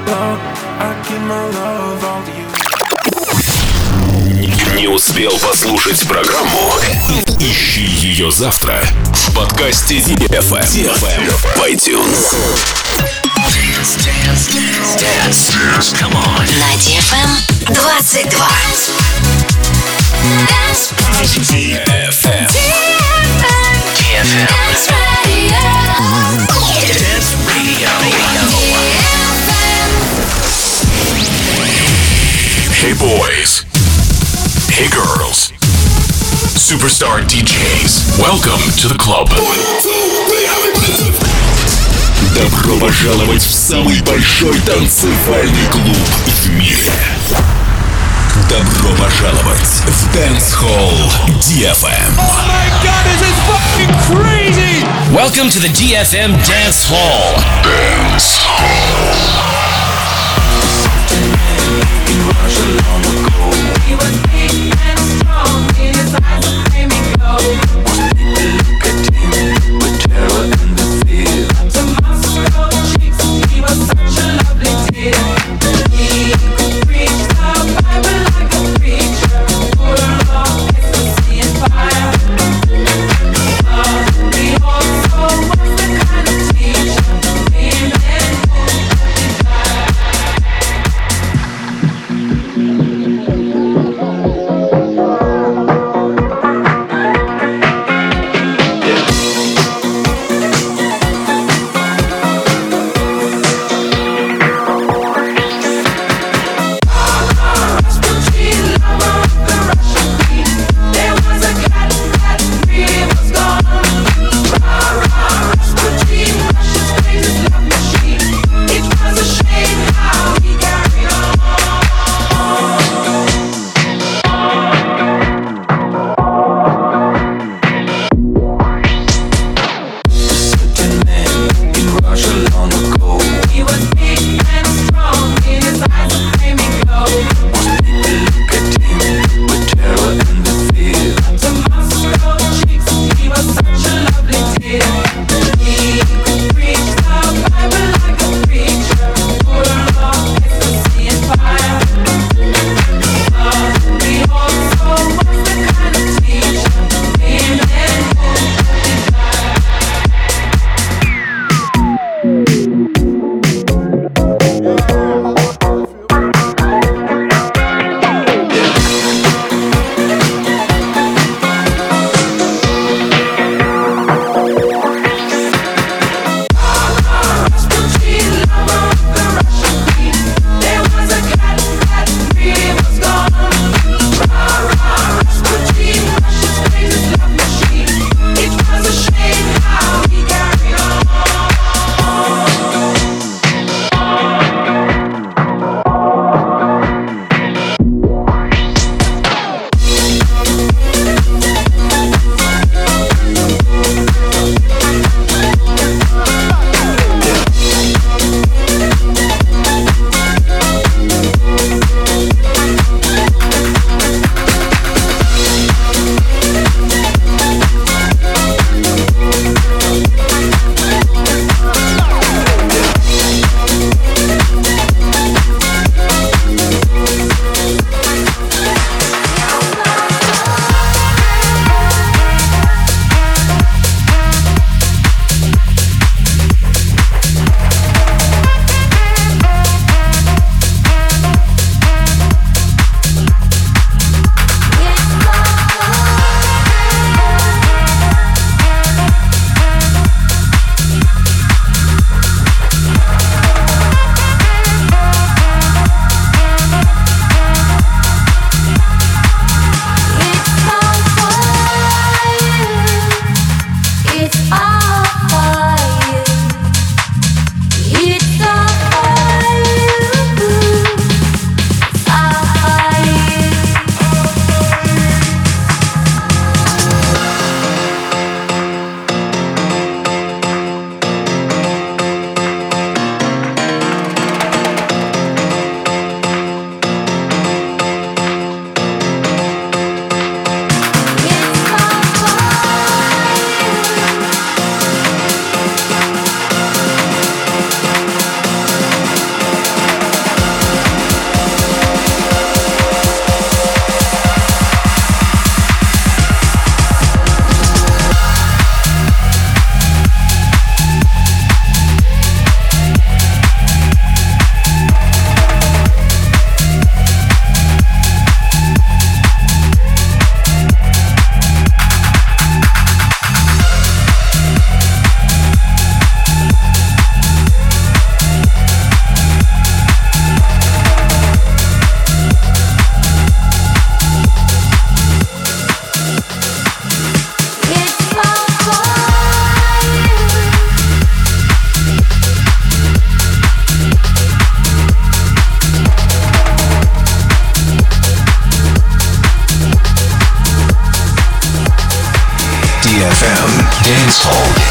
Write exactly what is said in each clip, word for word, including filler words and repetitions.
love, I give my love all to you. Не успел послушать программу? Ищи ее завтра в подкасте ди эф эм в iTunes. Dance, dance, dance, dance, come on. На ди эф эм двадцать два. Dance, ди эф эм. ди эф эм. Dance Radio. Dance Radio. Hey boys. Hey girls. Superstar ди джейс. Welcome to the club. Добро пожаловать в самый большой танцевальный клуб в мире. Добро пожаловать в Dance Hall ди эф эм. Oh my god, this is fucking crazy! Welcome to the ди эф эм Dance Hall. Dance Hall. He was big and strong, in his eyes that made me go. Look at him with terror and the fear. To my swirl cheeks, he was such a lovely dear. He could preach the Bible like a preacher, full of ecstasy and fire. But he also was the kind of teacher, him and home, he died. Dance Hall.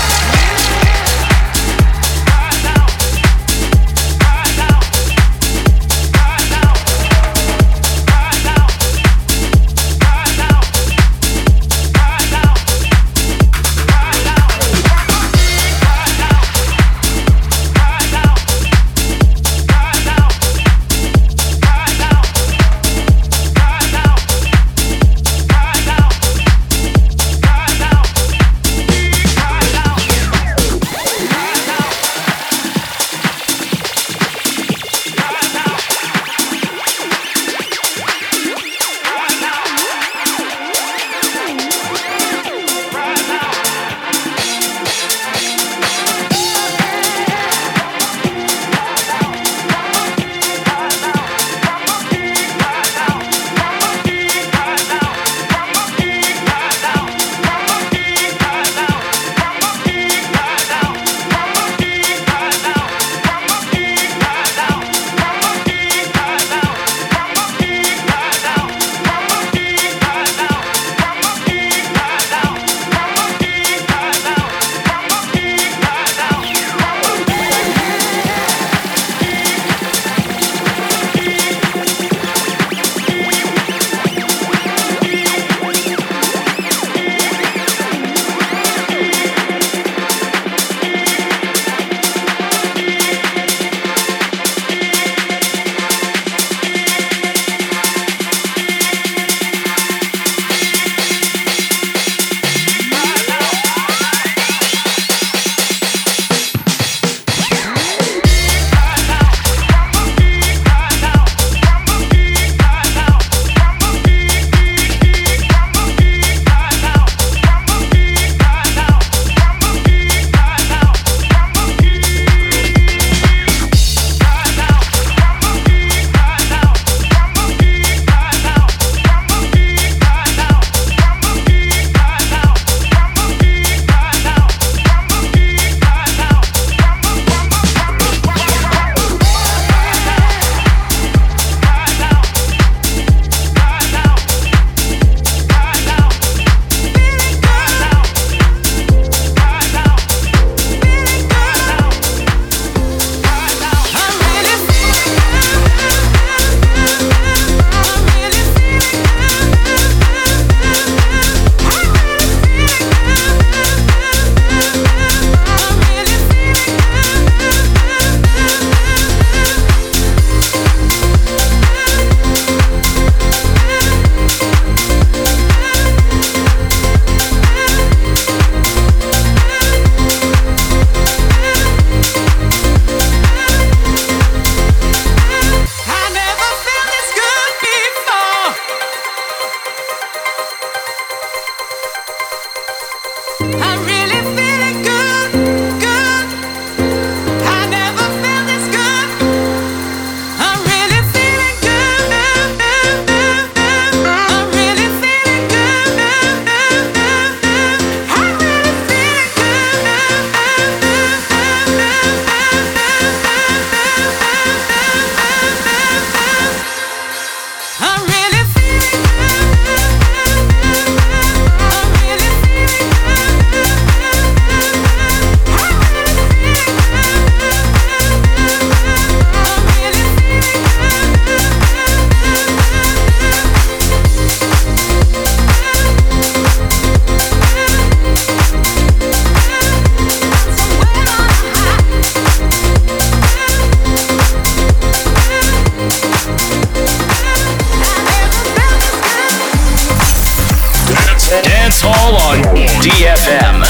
Dance Hall on D F M.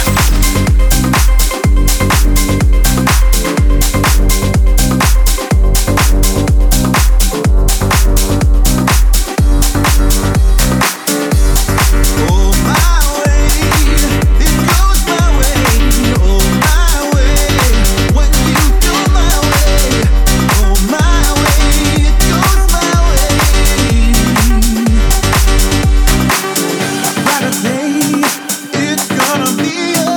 It's gonna be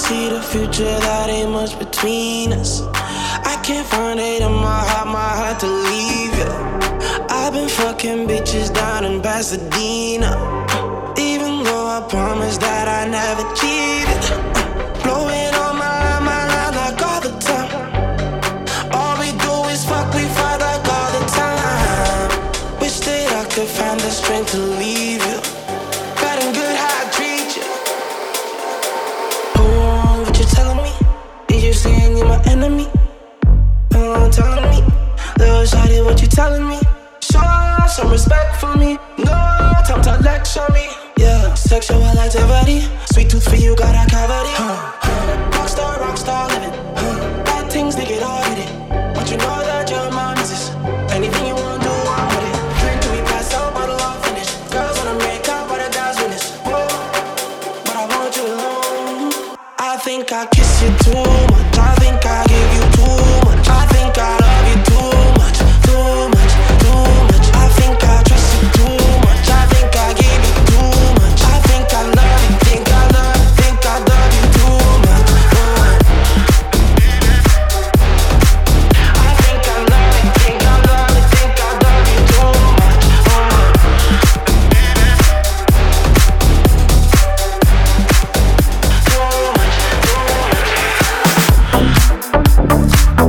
see the future, that ain't much between us. I can't find it in my heart, my heart to leave you. I've been fucking bitches down in Pasadena, even though I promised that I never cheated. Blowing on my line, my line like all the time. All we do is fuck, we fight like all the time. Wish that I could find the strength to leave you. Bad and good how I treat you. Oh, what you telling me? Did you saying you're my enemy? Oh, telling me, little shawty, what you telling me? Show some respect for me. No time to lecture me. Yeah, sexual activity. Sweet tooth for you, got a cavity. Huh. Rockstar, rockstar living. Huh. Bad things, they get all hit it. But you know that you're my missus. Anything you want, do, I'm with it. Drink till we pass out, bottle all finish. Girls wanna make out, but a guy's witness. Whoa, but I want you alone. I think I kiss you too much. I think I give you too much. I think I love you too much, too much, too much. I think I trust you too much. I think I give you too much. I think I love you, think I love you, think I love you too much. I think I love you, think I love you, think I love you too much. Too much, too much.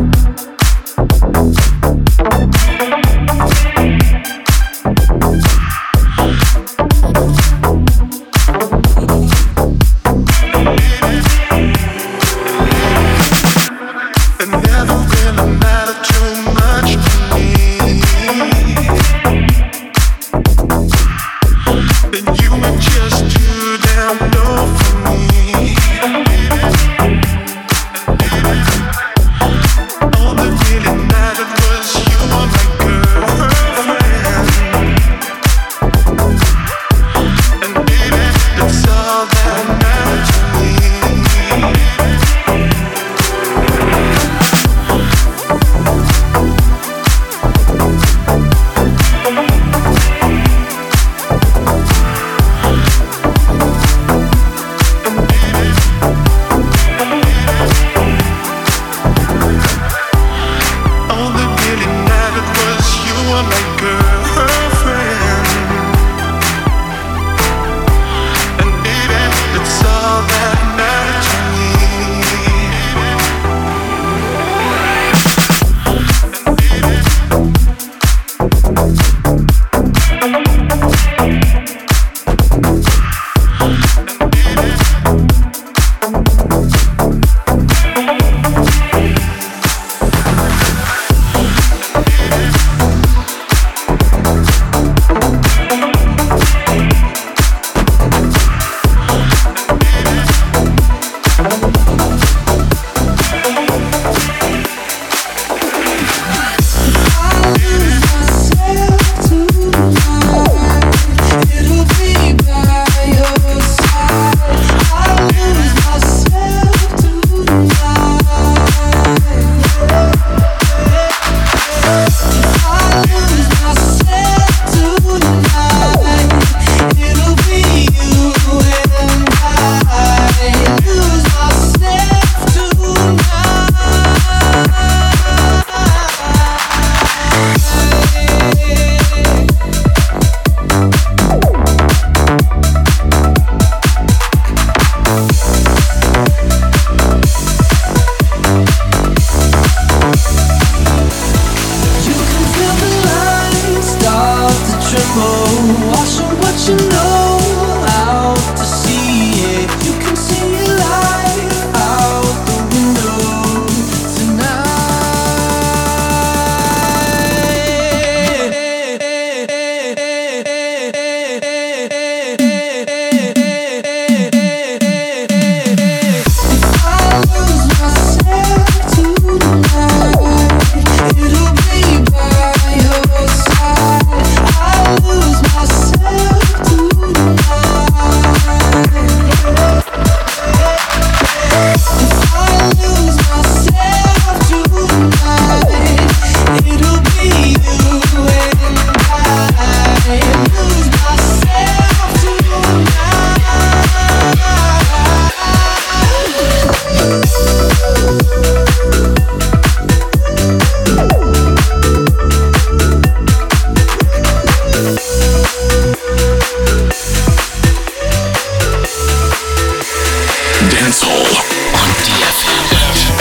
Dancehall on ди эф эм.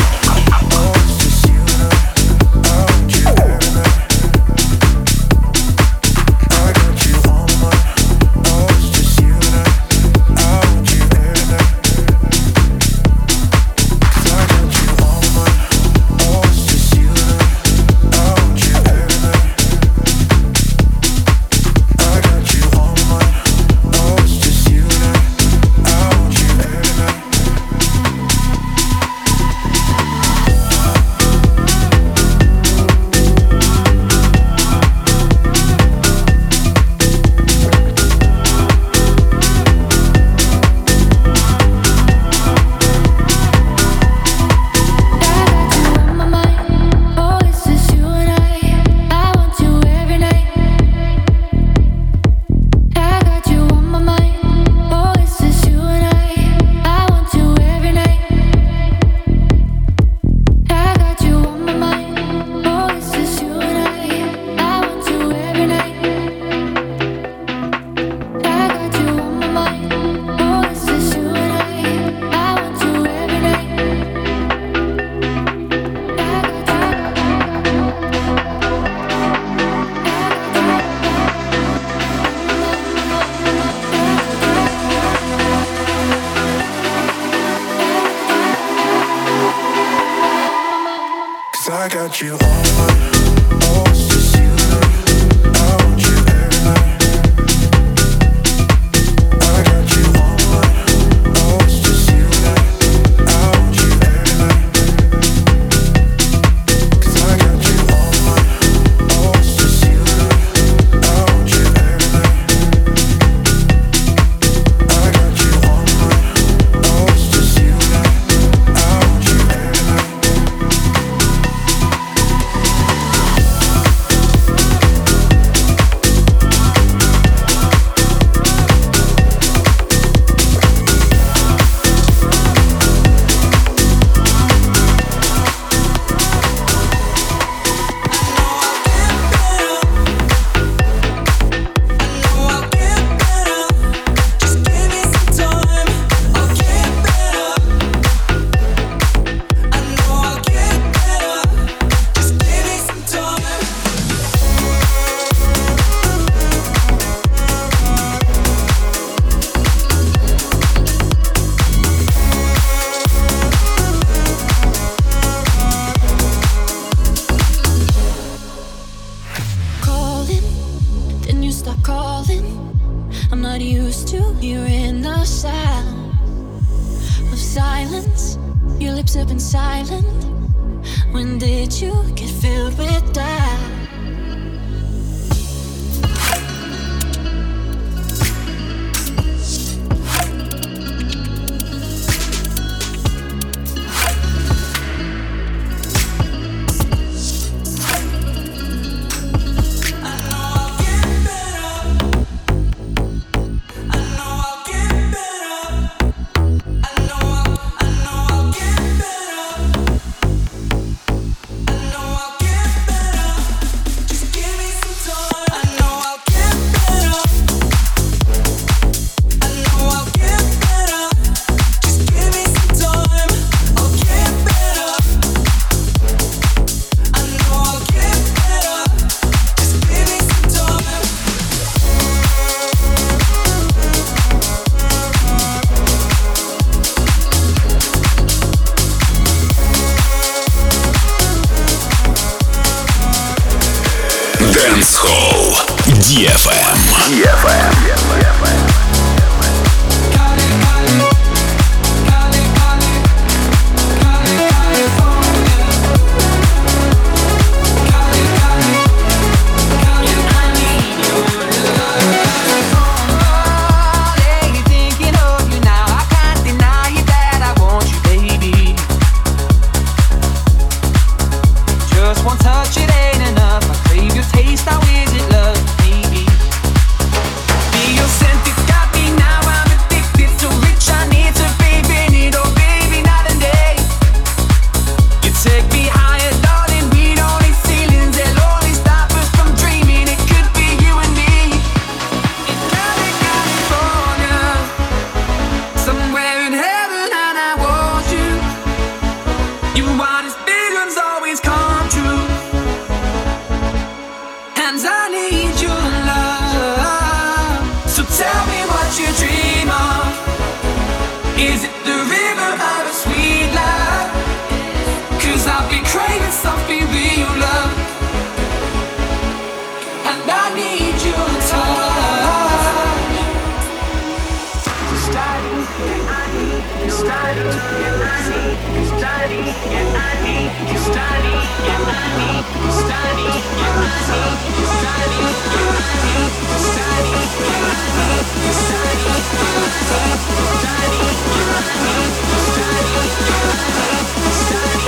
I got you on my, oh, it's just you and I. I want you every night. I got you on my, oh, it's just you and I. I want you every night. 'Cause I got you on my, oh, it's just you and I. I want you every night. I got you on my, oh, it's just you and I. I want you every night. Dancehall ди эф эм. ди эф эм. Taste, how is it love, baby? Be your senti Your wildest visions always come true, and I need your love. So tell me what you dream of. Is it the river of a sweet love? 'Cause I've been craving something real love, and I need your touch. Study, yeah, I need you. Study, yeah, I need you. Study, yeah, I need you. Study, yeah, I need you. Study, yeah, I need you. Study, yeah, I need you. Study, yeah, I need you. Study, yeah, I need you. Study, yeah, I need you. Study, yeah, I need you. Study,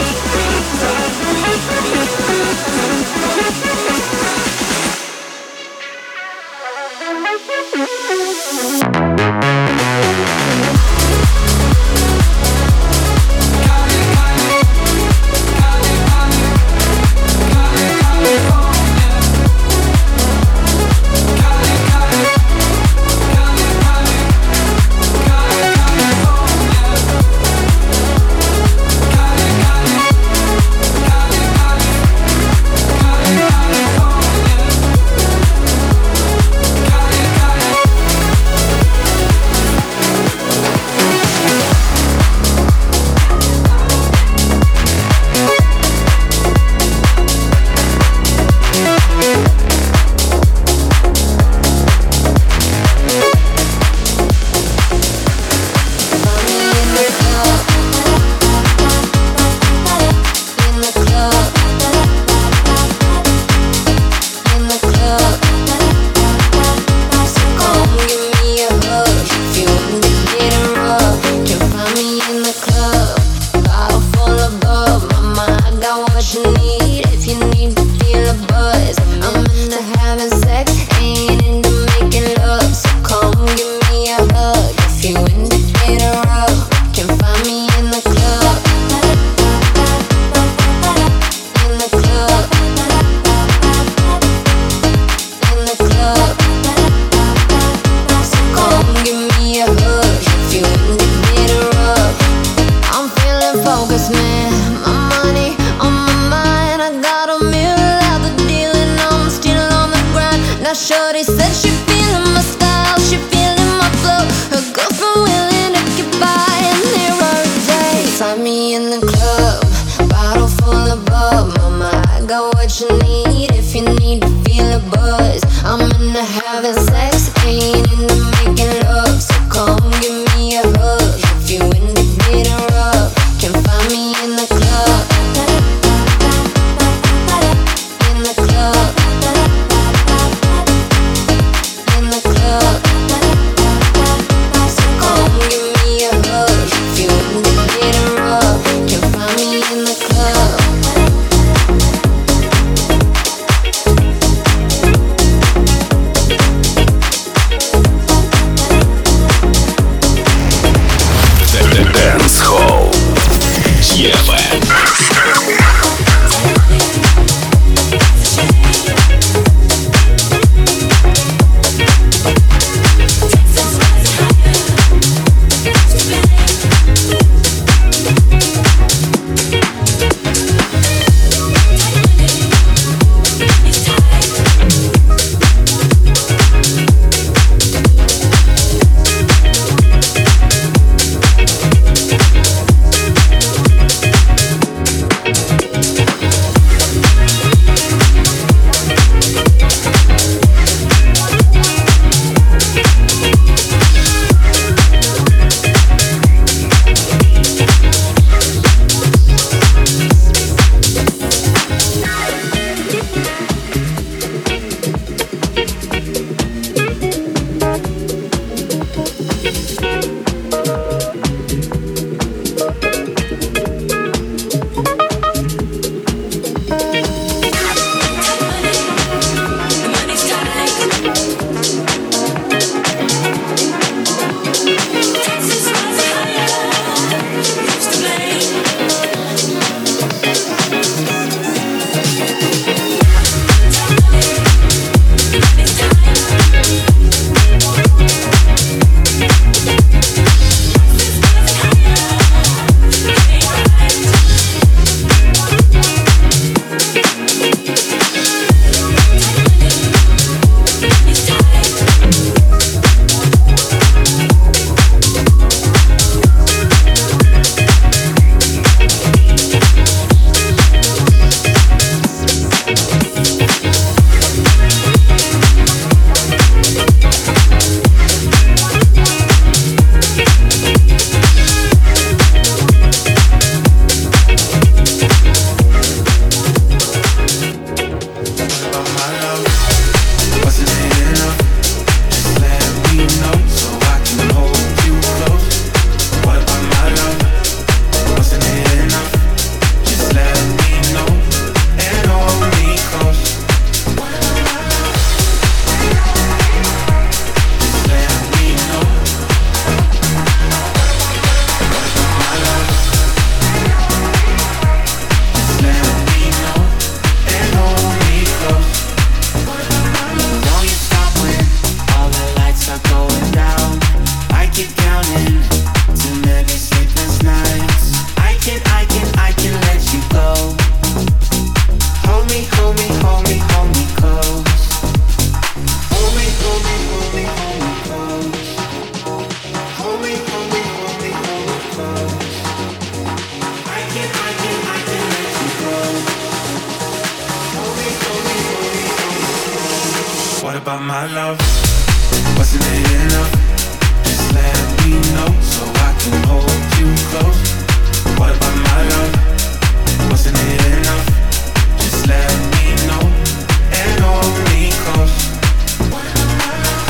about my love? Wasn't it enough? Just let me know so I can hold you close. What about my love? Wasn't it enough? Just let me know and hold me close. What about my love?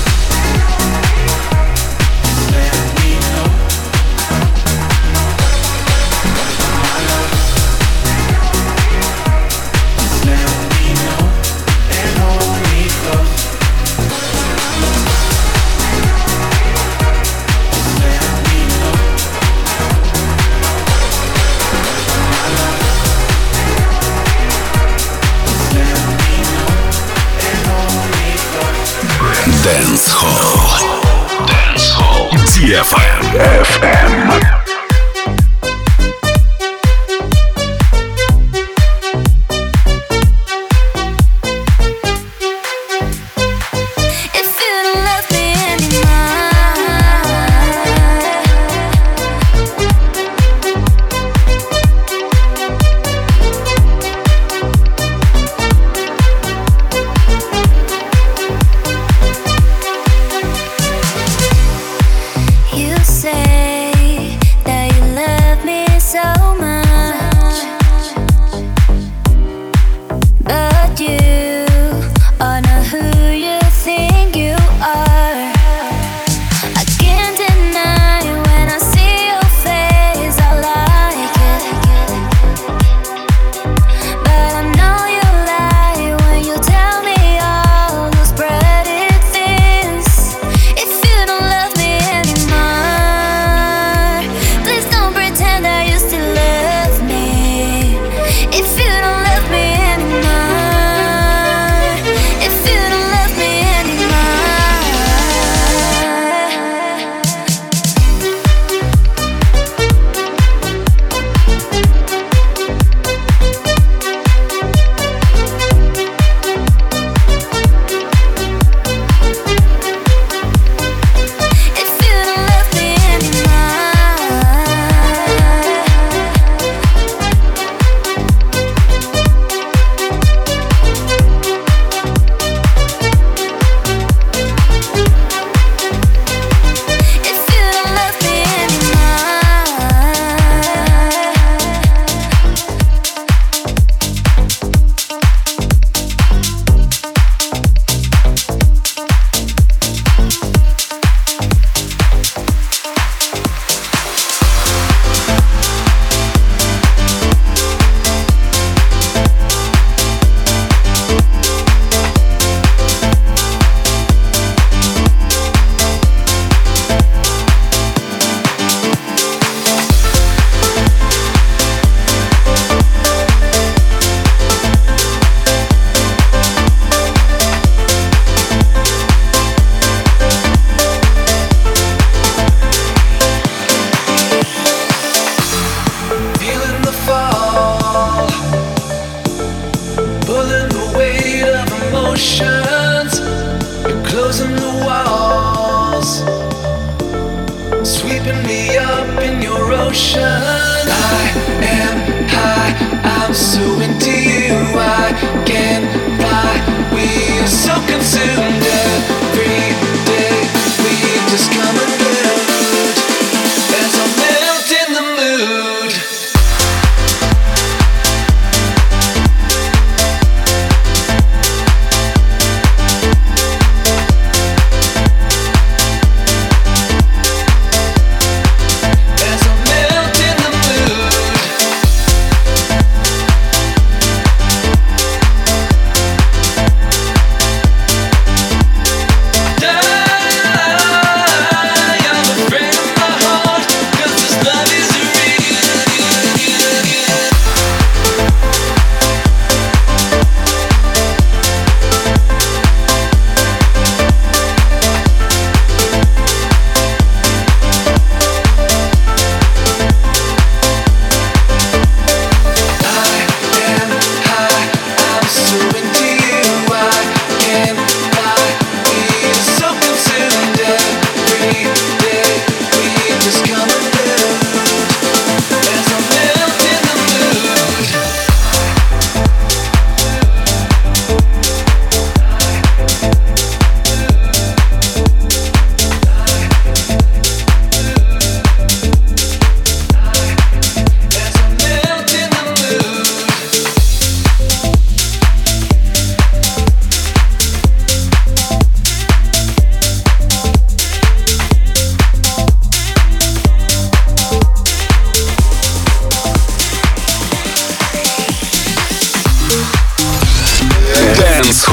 Just let me know. What about my love? Just let me know and hold me close. Dance Hall. Dance Hall. ди эф эм. эф эм.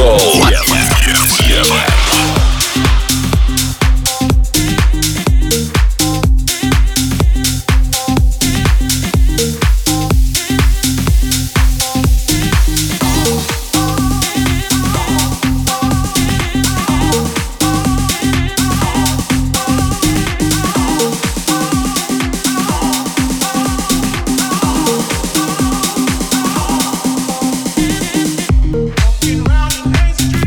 Холл. Walking around in Main Street.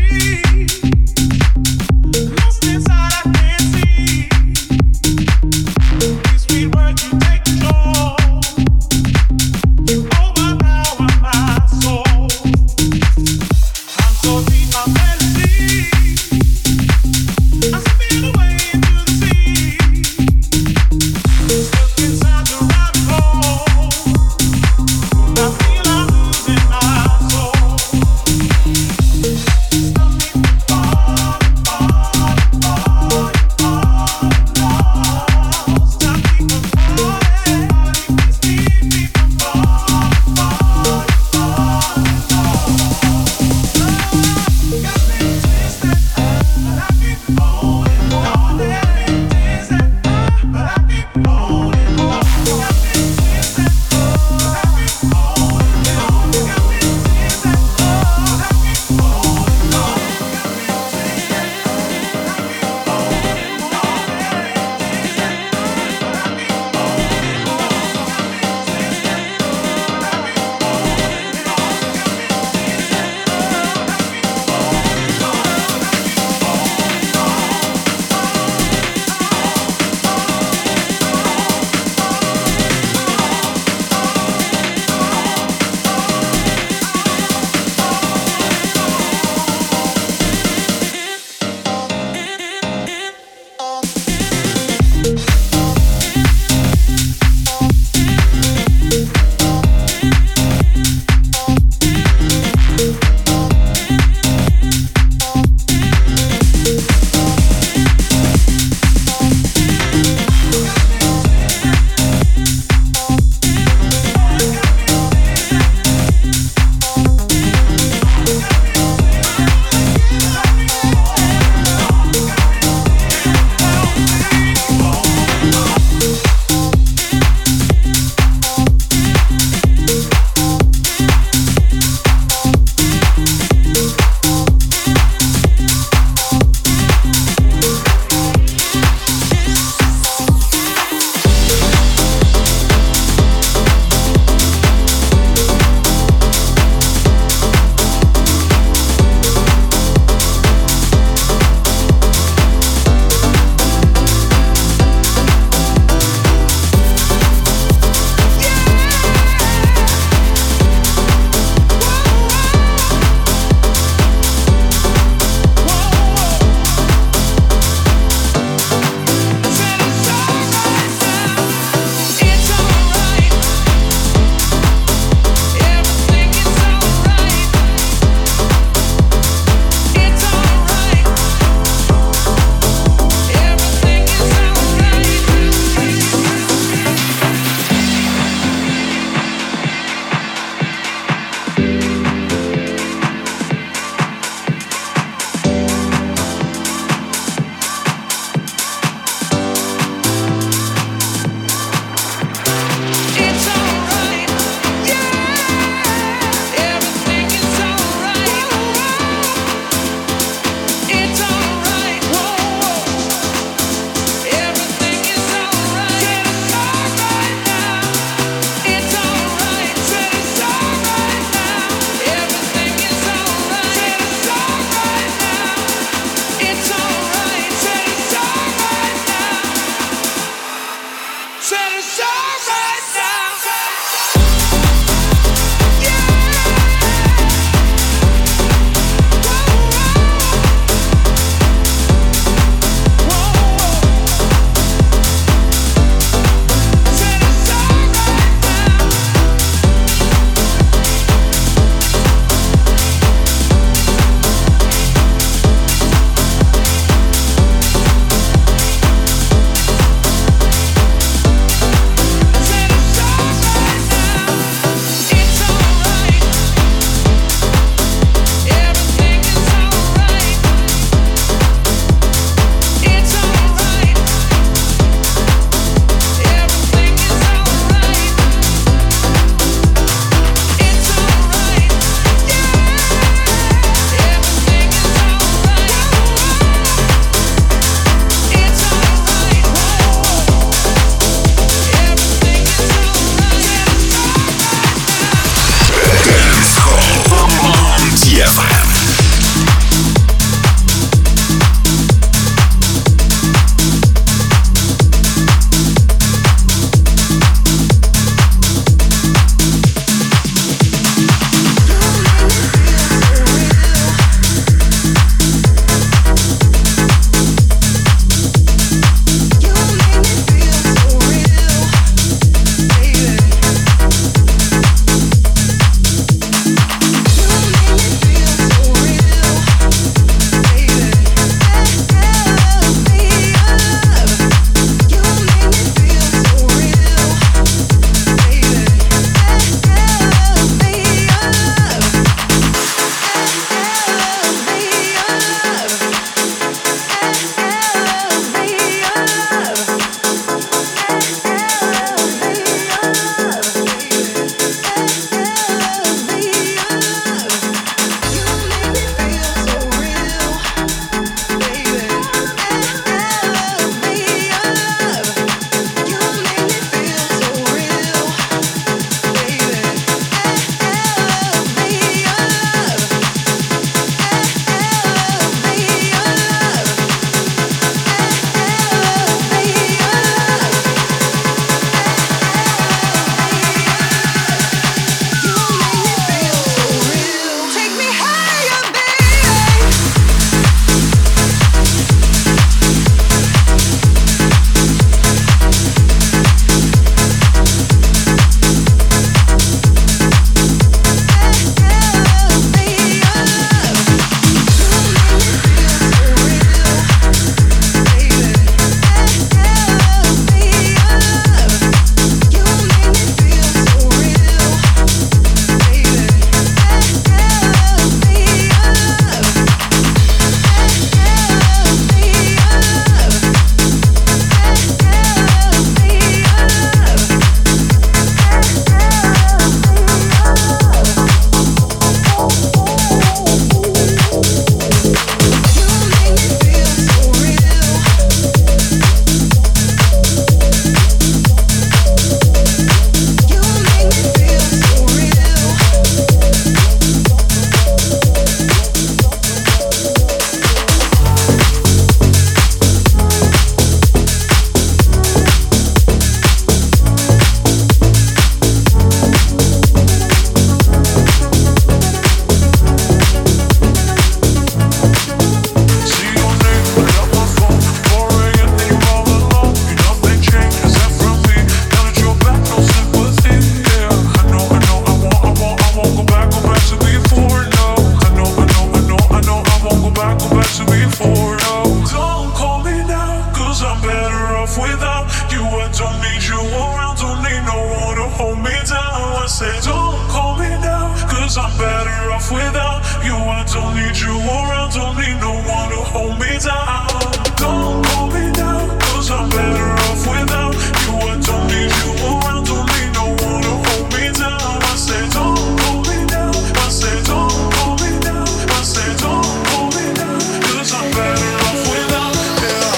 off without you. I don't need you around, don't need no one to hold me down. Don't hold me down, cause I'm better off without you. I don't need you around, don't need no one to hold me down. I say don't hold me down, I say don't hold me down, I say don't hold me down, cause I'm better off without, yeah.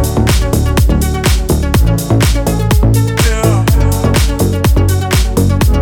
Yeah.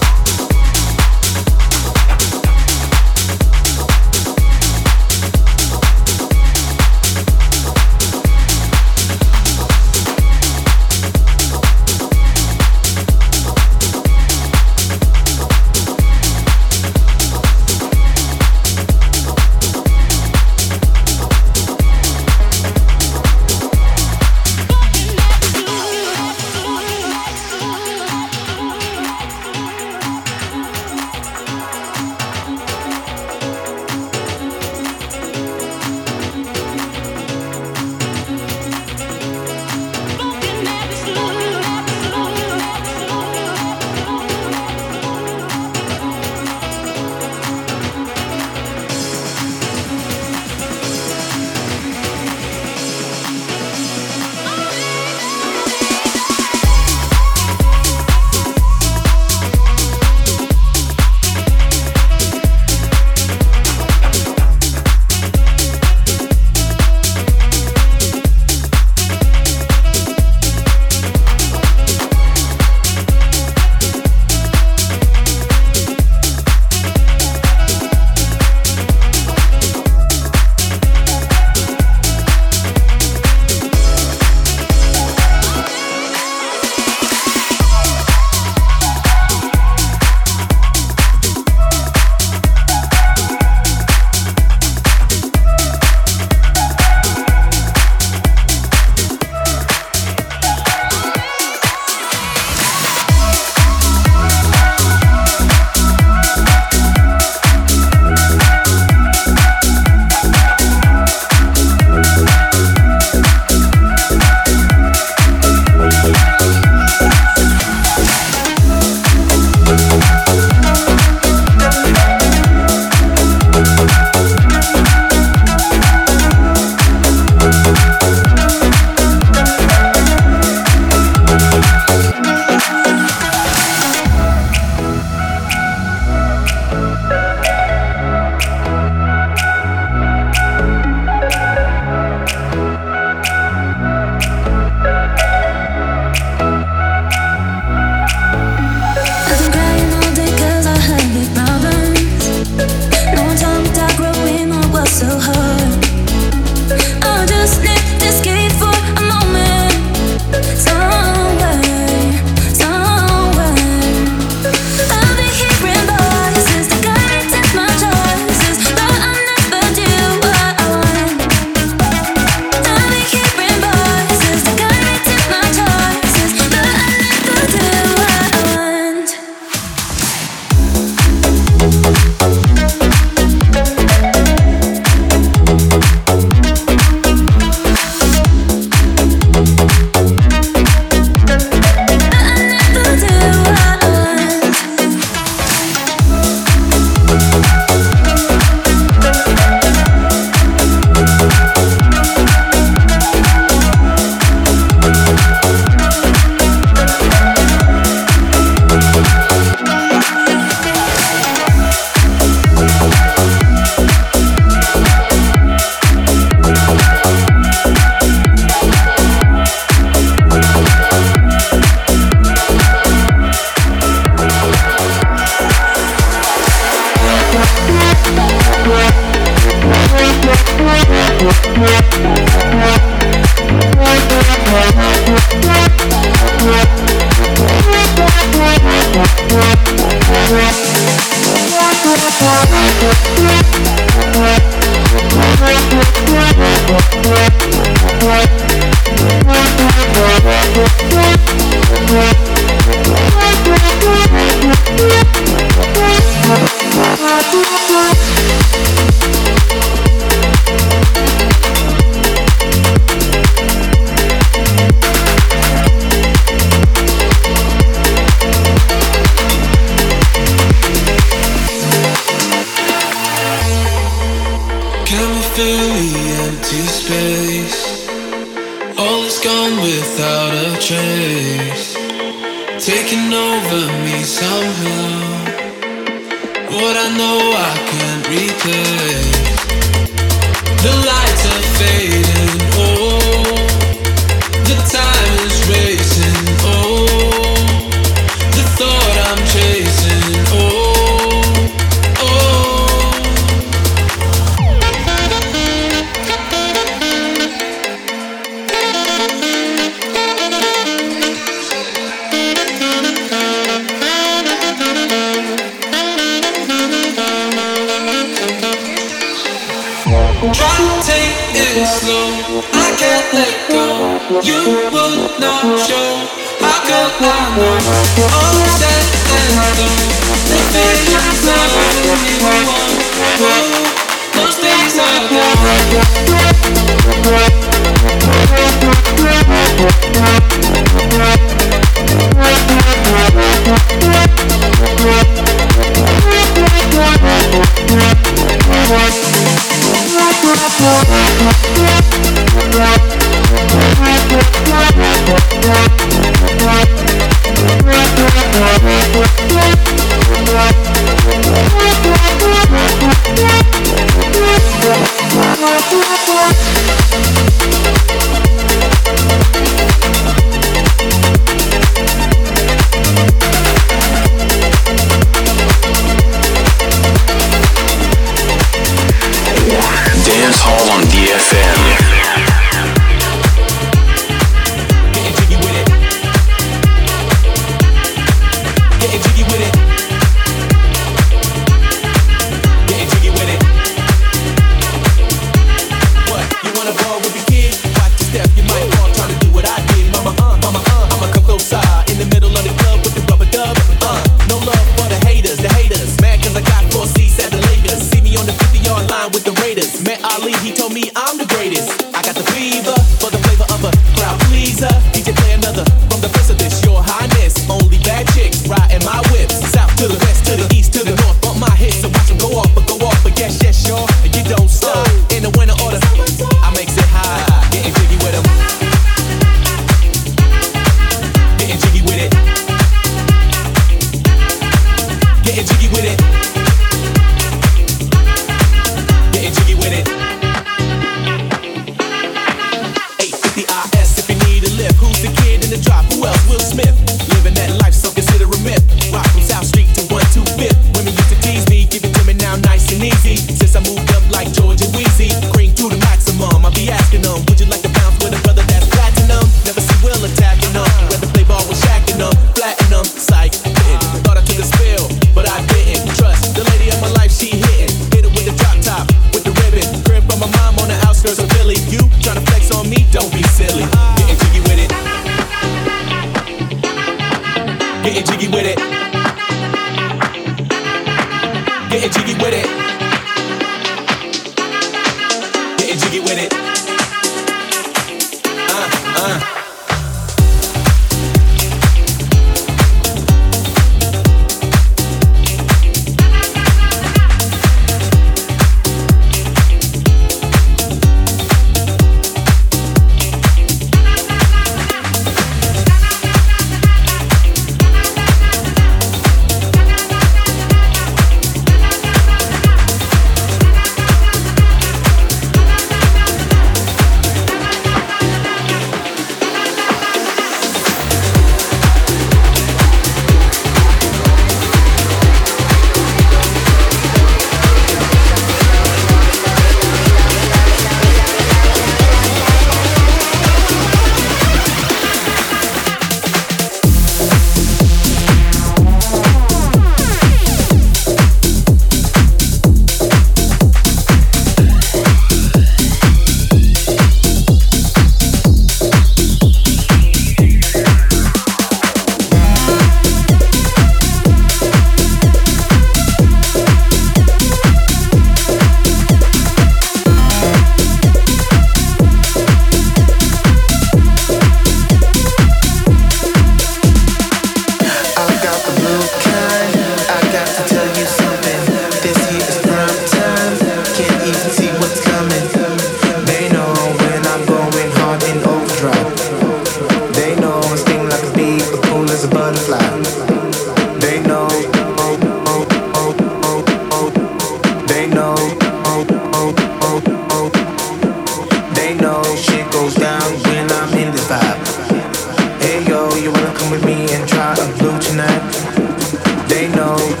fucking with me and try to blue tonight. They know